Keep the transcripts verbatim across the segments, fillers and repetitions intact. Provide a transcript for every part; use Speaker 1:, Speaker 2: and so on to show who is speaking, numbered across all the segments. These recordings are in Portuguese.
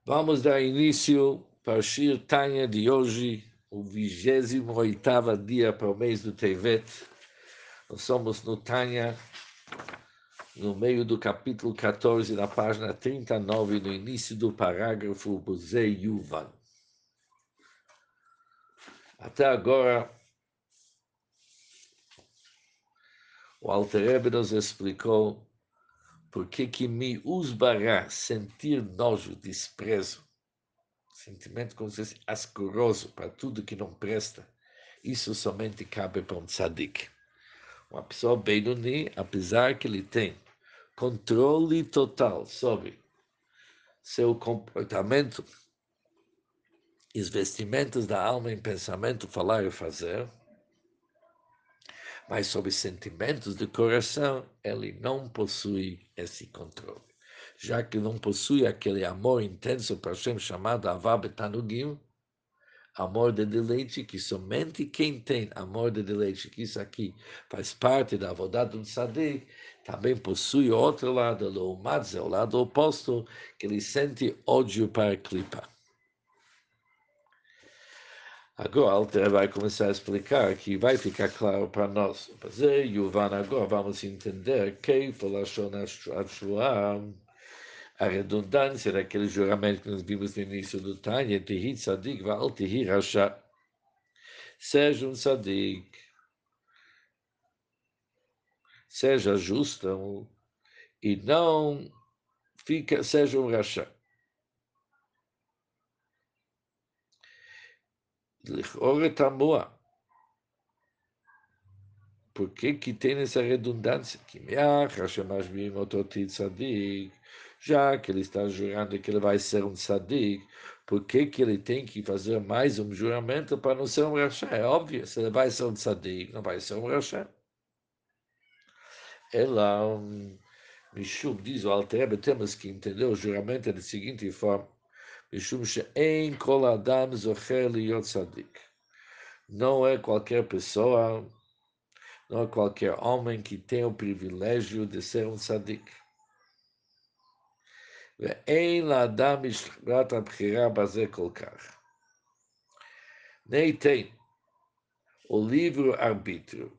Speaker 1: Vamos dar início para o Shir Tanya de hoje, o vigésimo oitavo dia para o mês do Tevet. Nós somos no Tanya, no meio do capítulo quatorze, na página trinta e nove, no início do parágrafo Buzei Yuvan. Até agora, o Alter Rebbe nos explicou por que que me usbará sentir nojo, desprezo, sentimento como se fosse asqueroso para tudo que não presta. Isso somente cabe para um tzadik. Uma pessoa Benoni, apesar que ele tem controle total sobre seu comportamento, os vestimentos da alma em pensamento, falar e fazer, mas sobre sentimentos do coração, ele não possui esse controle. Já que não possui aquele amor intenso para Hashem chamado Avá Betanugim, amor de deleite, que somente quem tem amor de deleite, que isso aqui faz parte da avodá do tzadik, também possui outro lado, o Madze, o lado oposto, que ele sente ódio para a clipa. Agora, Alter vai começar a explicar que vai ficar claro para nós. Yuvan, agora vamos entender que a redundância daquele juramento que nós vimos no início do Tanya, Tehi Tzadik Va'al Tehi Rasha. Seja um tzadik, seja justo e não fica, seja um rachá. Ora tamua. Por que que tem essa redundância? Que já que ele está jurando que ele vai ser um tzadik, por que que ele tem que fazer mais um juramento para não ser um rachá? É óbvio, se ele vai ser um tzadik, não vai ser um rachá. Ela, um, Mishum, diz o Alter Rebbe, temos que entender o juramento da seguinte forma. Mishum she'en kol adam zocher liyot tzadik. Não é qualquer pessoa, não é qualquer homem que tem o privilégio de ser um tzadik. Ve'en la'adam mishrat ha'bchira bazeh kol kach. Nem tem o livre-arbítrio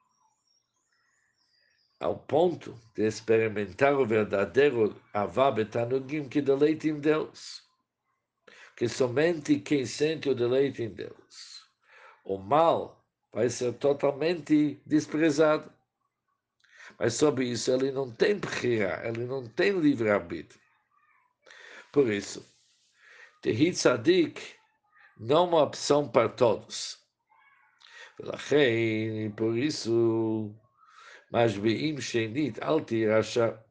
Speaker 1: ao ponto de experimentar o verdadeiro avá betanugim que deleita em Deus. Que somente quem sente o deleite em Deus, o mal vai ser totalmente desprezado. Mas sobre isso ele não tem bechira, ele não tem livre-arbítrio. Por isso, Tehi Tzadik não é uma opção para todos. E por isso, mas Beim Shenit Alti Rasha,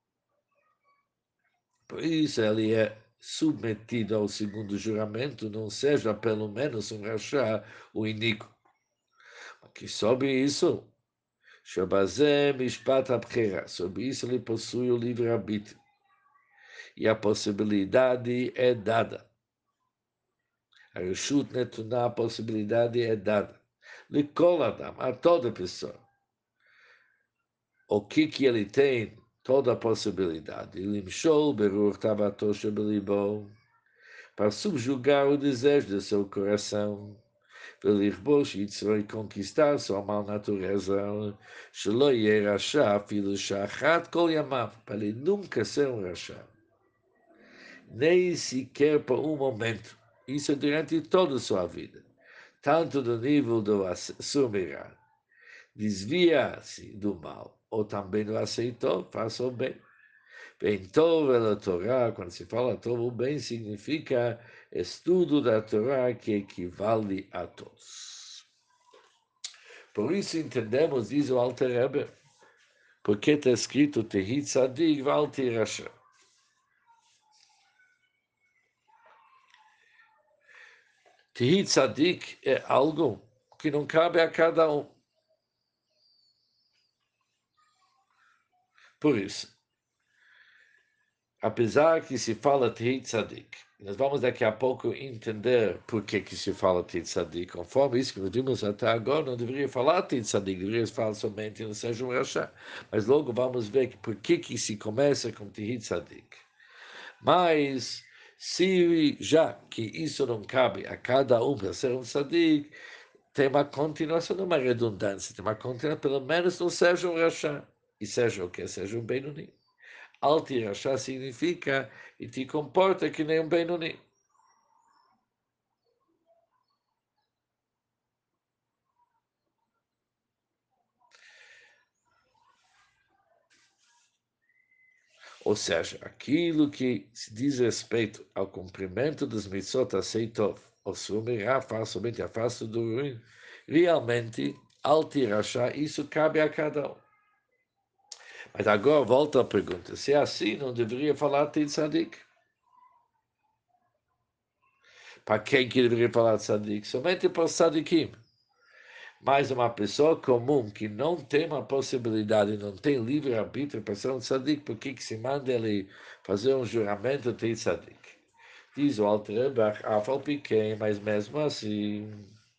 Speaker 1: por isso ele é submetido ao segundo juramento, não seja pelo menos um rachá, o iníquo. Que sobre isso, Shabazé Mishpat Abchera, sobre isso ele possui o livre-arbítrio. E a possibilidade é dada. A Reshut Netuná, a possibilidade é dada. Likol Adam, a toda pessoa. O que que ele tem? Toda a possibilidade. Limshol Berur Tabato Shabelibo, para subjugar o desejo do seu coração. Velirbosh Yitzro e conquistar sua mal natureza, Shelo Yeh Rasha, filho Shachat Kol Yamav, para ele nunca ser um Rasha, nem sequer por um momento. Isso durante toda a sua vida, tanto do nível do Sumirá, desvia-se do mal, ou também o aceitou, faça o bem. Bem, Tov é a Torá, quando se fala Tov, o bem significa estudo da Torá que equivale a todos. Por isso entendemos, diz o Alter Rebbe, porque está escrito Tehi Tzadik Val Tirasha. Tehi Tzadik é algo que não cabe a cada um. Por isso, apesar que se fala Tehi Tzadik, nós vamos daqui a pouco entender por que, que se fala Tehi Tzadik. Conforme isso que nós vimos até agora, não deveria falar Tehi Tzadik, deveria falar somente no seja um Rasha. Mas logo vamos ver que por que, que se começa com Tehi Tzadik. Mas Se já que isso não cabe a cada um para ser um tzadik, tem uma continuação, não uma redundância, tem uma continuação, pelo menos não seja um rachá. E seja o que? Seja um Benoni. Alti rachá significa e te comporta que nem um Benoni. Ou seja, aquilo que se diz respeito ao cumprimento dos mitzvot aceitov, ou sumirá, faz somente a face do ruim, realmente, alti rachá, isso cabe a cada um. Mas agora volta a pergunta, se é assim, não deveria falar tzadik? Para quem que deveria falar tzadik? Somente para os tzadikim. Mas uma pessoa comum que não tem uma possibilidade, não tem livre-arbítrio para ser um tzadik, por que que se manda ele fazer um juramento de tzadik? Diz o Alter Rebbe, afal pequeno, mas mesmo assim,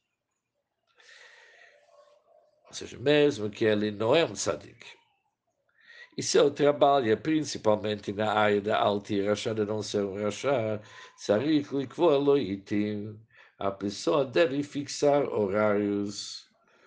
Speaker 1: ou seja, mesmo que ele não é um tzadik, e seu trabalho é principalmente na área da Alti Rashá, de não ser um Rashá, Tzarich likvor loitim, a pessoa deve fixar horários,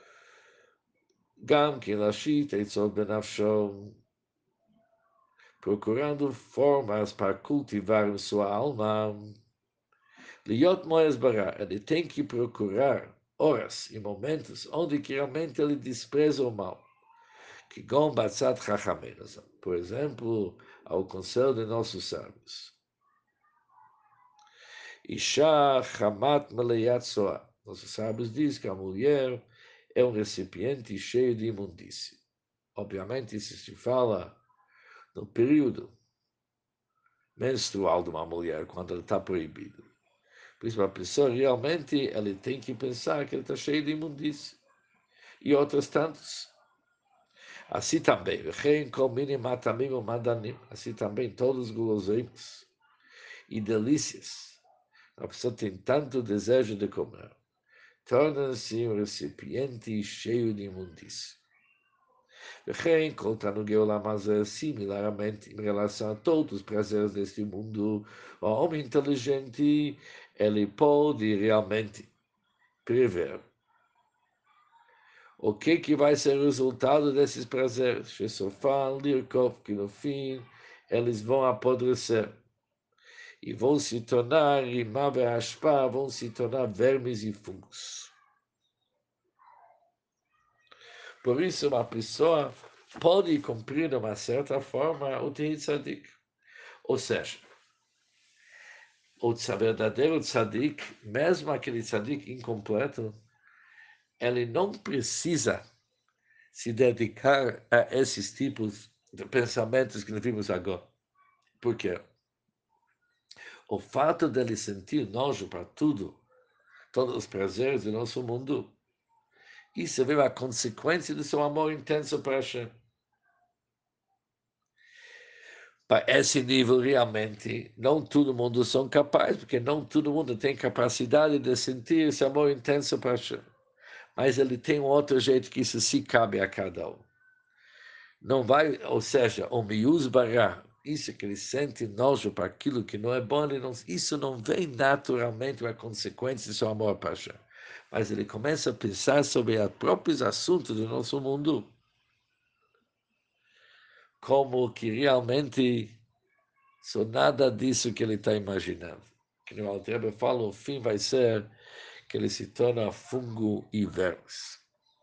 Speaker 1: Gam que lashit eitzot benafsho, procurando formas para cultivar sua alma. Liot moes bara, ele tem que procurar horas e momentos onde que realmente ele despreza o mal. Que gom batzat chachamenos. Por exemplo, ao conselho de nossos sábios. Isha chamat meleyat soa. Nossos sábios dizem que a mulher é um recipiente cheio de imundície. Obviamente, isso se fala no período menstrual de uma mulher, quando ele está proibido. Por isso, a pessoa realmente ele tem que pensar que ele está cheio de imundície. E outros tantos. Assim também, assim também todos os guloseimas e delícias. A pessoa tem tanto desejo de comer. Torna-se um recipiente cheio de imundície. וכן, כל תענוגי עולם הזה, similarmente, em relação a todos os prazeres deste mundo, o homem inteligente, ele pode realmente prever o que, que vai ser o resultado desses prazeres. Shesofan, Lirkov, que no fim eles vão apodrecer e vão se tornar, Rimá e Ashpá, vão se tornar vermes e fungos. Por isso, uma pessoa pode cumprir de uma certa forma o Tehit Tzadik. Ou seja, o verdadeiro tzadik, mesmo aquele tzadik incompleto, ele não precisa se dedicar a esses tipos de pensamentos que nós vimos agora. Por quê? O fato dele sentir nojo para tudo, todos os prazeres do nosso mundo, isso é a consequência do seu amor intenso para Hashem. Para esse nível, realmente, não todo mundo são capazes, porque não todo mundo tem capacidade de sentir esse amor intenso para Hashem. Mas ele tem um outro jeito que isso se cabe a cada um. Não vai, ou seja, o miúz bará, isso que ele sente nojo para aquilo que não é bom, ele não, isso não vem naturalmente a consequência do seu amor para Hashem. Mas ele começa a pensar sobre os próprios assuntos do nosso mundo, como que realmente são nada disso que ele está imaginando. Que no Alter Rebbe fala, o fim vai ser que ele se torna fungo e vermes.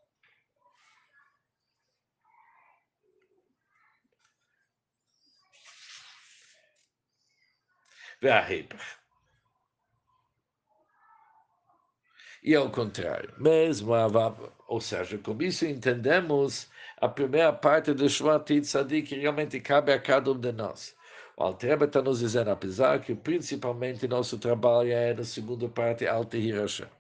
Speaker 1: וההפך. E ao contrário, mesmo a, ou seja, com isso entendemos a primeira parte do Shvat Tzadik que realmente cabe a cada um de nós. O Alter Rebbe está nos dizendo, apesar que principalmente nosso trabalho é na segunda parte Alta Hirasha,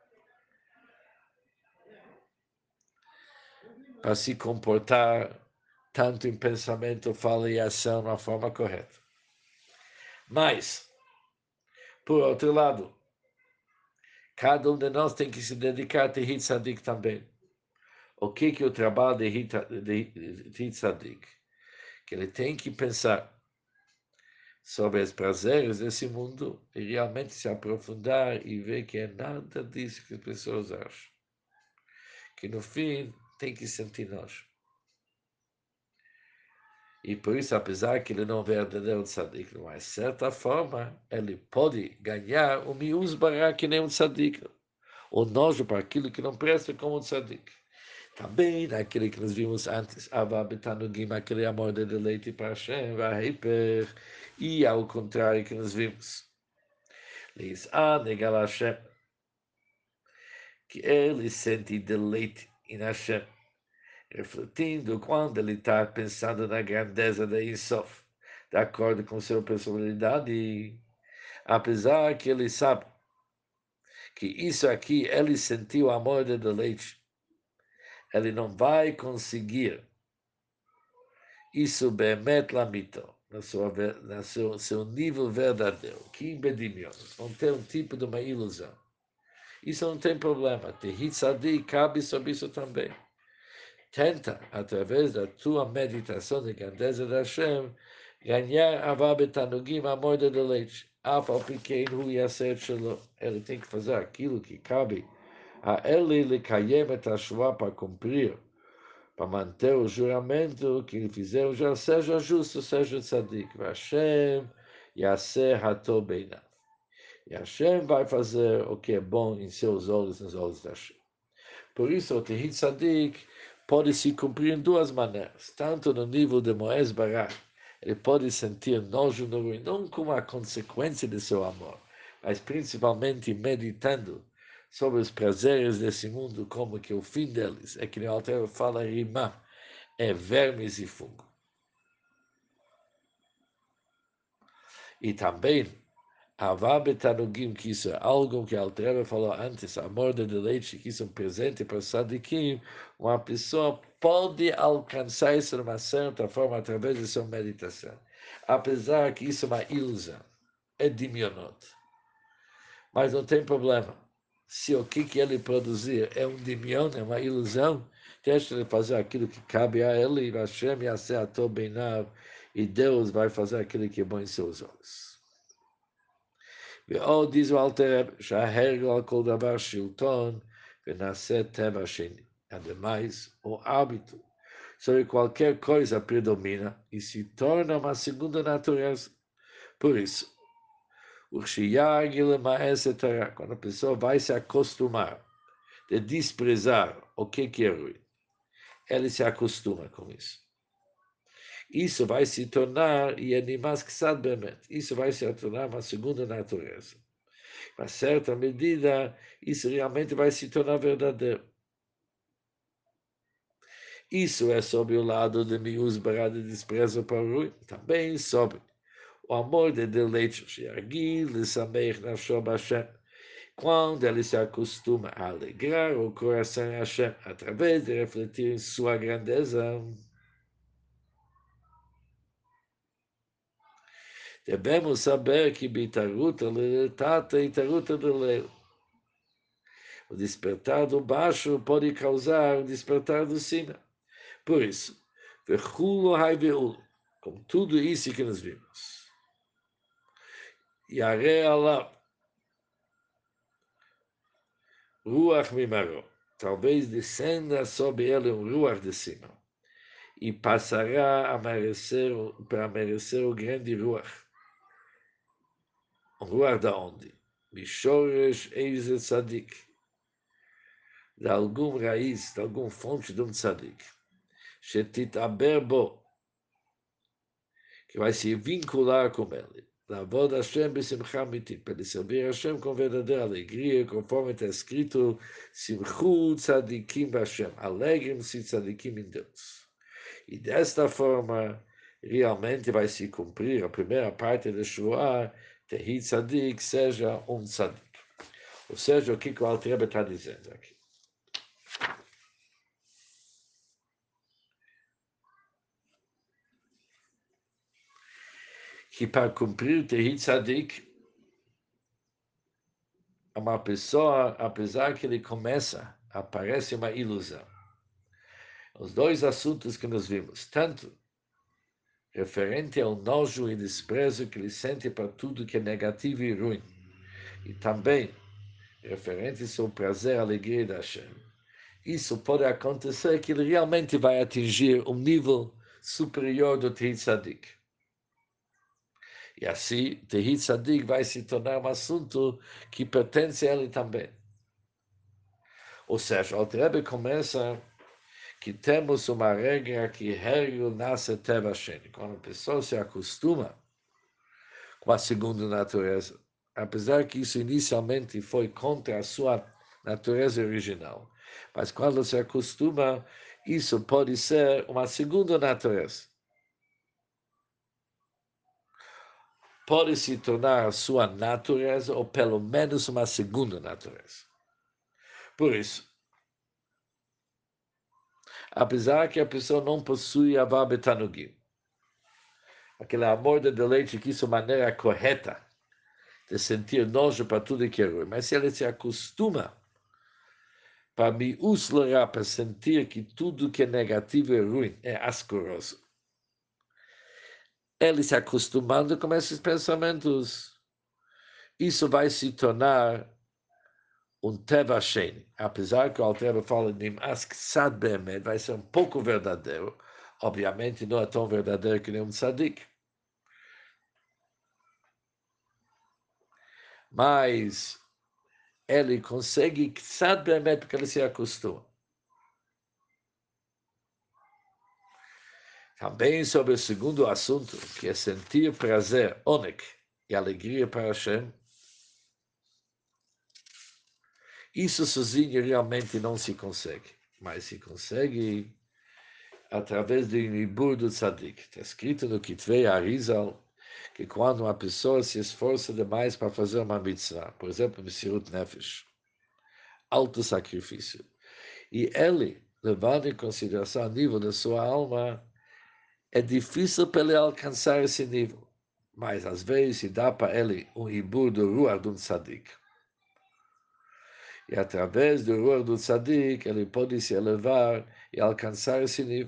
Speaker 1: para se comportar tanto em pensamento, fala e ação de uma forma correta. Mas, por outro lado, cada um de nós tem que se dedicar a Tehit Tzadik também. O que, que é o trabalho de Tehit Tzadik? Que ele tem que pensar sobre os prazeres desse mundo e realmente se aprofundar e ver que é nada disso que as pessoas acham. Que no fim tem que sentir nós. E por isso, apesar que ele não é verdadeiro tzadik, de uma certa forma, ele pode ganhar o miúz bará que nem um tzadik. O nojo para aquilo que não presta como um tzadik. Também naquele que nós vimos antes, Ava Betanugim, aquele amor de deleite para Hashem, Vahiper, e ao contrário que nós vimos. Diz, ah, negar Hashem, que ele sente deleite em Hashem, refletindo quando ele está pensando na grandeza da Insof, de acordo com sua personalidade, e, apesar que ele sabe que isso aqui, ele sentiu amor de deleite, ele não vai conseguir isso bemet lamito, na sua, na seu, seu nível verdadeiro, que bedimion, vão ter um tipo de uma ilusão. Isso não tem problema, Tehit Sadi cabe sobre isso também. Tenta, através da tua meditação de grandeza da Hashem, ganhar avá betanugim, amor de deleite. Af ao pequeno hu yaser shelo. Ele tem que fazer aquilo que cabe a ele lhe kayem et para cumprir, para manter o juramento que ele fizer, já seja justo, seja tzadik. Hashem yaser hato beinav. E Hashem vai fazer o que é bom em seus olhos, nos olhos da Hashem. Por isso, o Tehit Tzadik pode se cumprir em duas maneiras. Tanto no nível de Moés Barak, ele pode sentir nojo no ruim, não como a consequência de seu amor, mas principalmente meditando sobre os prazeres desse mundo, como que o fim deles é que o Alter fala rimá, é vermes e fogo. E também Avá betanugim, que isso é algo que a Altreba falou antes, amor de deleite, que isso é um presente para Sadikim, uma pessoa pode alcançar isso de uma certa forma através de sua meditação. Apesar que isso é uma ilusão, é dimionot. Mas não tem problema. Se o que, que ele produzir é um dimion, é uma ilusão, deixa ele fazer aquilo que cabe a ele, e Hashem yaseh ato beinav, e Deus vai fazer aquilo que é bom em seus olhos. ועוד diz o Alter Rebbe, שההרגל על כל דבר שלטון ונעשה טבע שני. Ademais, o hábito sobre qualquer coisa predomina e se torna uma segunda natureza. Por isso, o quando a pessoa vai se acostumar de desprezar o que é ruim, ele se acostuma com isso. Isso vai se tornar, e animais que sabem, isso vai se tornar uma segunda natureza. A certa medida, isso realmente vai se tornar verdadeiro. Isso é sobre o lado de miús barada de desprezo para o ruim, também sobre o amor de deleite, quando ele se acostuma a alegrar o coração a Hashem, através de refletir em sua grandeza. Devemos saber que Bitaruta Leletata e Taruta de Leu. O despertar do baixo pode causar o despertar do cima. Por isso, com tudo isso que nós vimos, Yare Allah, Ruach Mimaro, talvez descenda sobre ele um Ruach de cima, e passará a merecer, para merecer o grande Ruach. Um Ruach da onde? Mishoresh Eize Tzadik, de algum raiz, de alguma fonte de um tzadik, Shetitaber Bo, que vai se vincular com ele. Lavod Hashem b'simcha mitit, para ele servir Hashem com verdadeira alegria, conforme está escrito, Simchu tzadikim b'Hashem, alegrem-se tzadikim em Deus. E desta forma, realmente vai se cumprir a primeira parte da Shua, Tehit tzadik, seja um tzadik. Ou seja, o que o Alter Rebbe está dizendo aqui. Que para cumprir Tehit tzadik, uma pessoa, apesar que ele começa, aparece uma ilusão. Os dois assuntos que nós vimos, tanto referente ao nojo e desprezo que ele sente para tudo que é negativo e ruim, e também referente ao seu prazer e alegria da Hashem. Isso pode acontecer que ele realmente vai atingir um nível superior do Tehit Tzadik. E assim, Tehit Tzadik vai se tornar um assunto que pertence a ele também. Ou seja, o Alter Rebbe começa que temos uma regra que Hergel nasce Teva Sheni. Quando a pessoa se acostuma com a segunda natureza, apesar que isso inicialmente foi contra a sua natureza original, mas quando se acostuma, isso pode ser uma segunda natureza. Pode se tornar a sua natureza, ou pelo menos uma segunda natureza. Por isso, apesar que a pessoa não possui Avá Betanugim, aquele amor de deleite que isso é a maneira correta de sentir nojo para tudo que é ruim, mas se ele se acostuma para me uslar, para sentir que tudo que é negativo e ruim é asqueroso, ele se acostumando com esses pensamentos, isso vai se tornar um Teva Sheni, apesar que o Alter Rebbe fala Nim'as Ksad Be'emet, vai ser um pouco verdadeiro, obviamente não é tão verdadeiro que nem um tzadik, mas ele consegue Ksad Be'emet porque ele se acostuma. Também sobre o segundo assunto, que é sentir prazer, onek, e alegria para Hashem, isso sozinho realmente não se consegue, mas se consegue através do Nibur do Tzadik. Está escrito no Kitvei Arizal que quando uma pessoa se esforça demais para fazer uma mitzvah, por exemplo, Messirut Nefesh, alto sacrifício, e ele, levando em consideração o nível da sua alma, é difícil para ele alcançar esse nível, mas às vezes se dá para ele um Nibur do Ruach do Tzadik. E através do Ruach do Tzadik, ele pode se elevar e alcançar esse nível.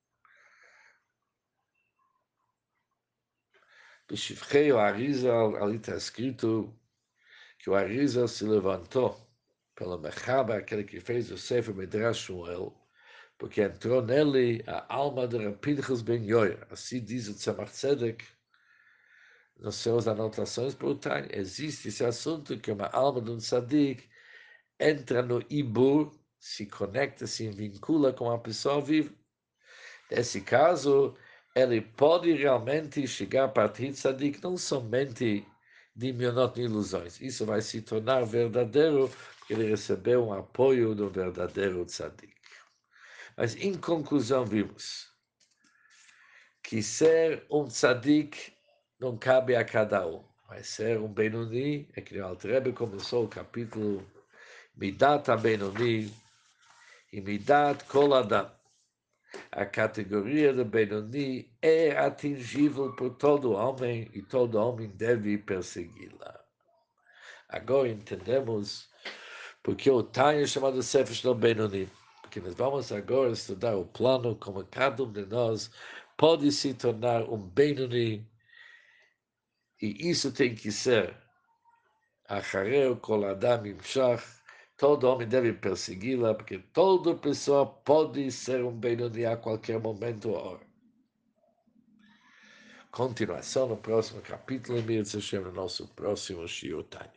Speaker 1: Bishivchei o Arizal, ali está escrito que o Arizal se levantou pelo Mechaba, aquele que fez o Sefer Midrash Shmuel, porque entrou nele a alma de Pinchas ben Yoyer. Assim diz o Tzemach Tzedek nas suas anotações por Tanya. Existe esse assunto que uma alma de um tzadik entra no Ibur, se conecta, se vincula com a pessoa viva. Nesse caso, ele pode realmente chegar a partir de tzadik, não somente de mionot ilusões. Isso vai se tornar verdadeiro, porque ele recebeu um apoio do verdadeiro tzadik. Mas, em conclusão, vimos que ser um tzadik não cabe a cada um. Mas ser um Benoni, é que o Alter Rebbe começou o capítulo Midat HaBenoni e Midat Kol Adam. A categoria do Benoni é atingível por todo homem e todo homem deve persegui-la. Agora entendemos porque o Tanya é chamado Sefer do Benoni. Porque nós vamos agora estudar o plano como cada um de nós pode se tornar um Benoni, e isso tem que ser Achareu Kol Adam Imshach. Todo homem deve persegui-la, porque toda pessoa pode ser um Benoni a qualquer momento ou hora. Continuação no próximo capítulo, e no nosso próximo Shiur Tanya.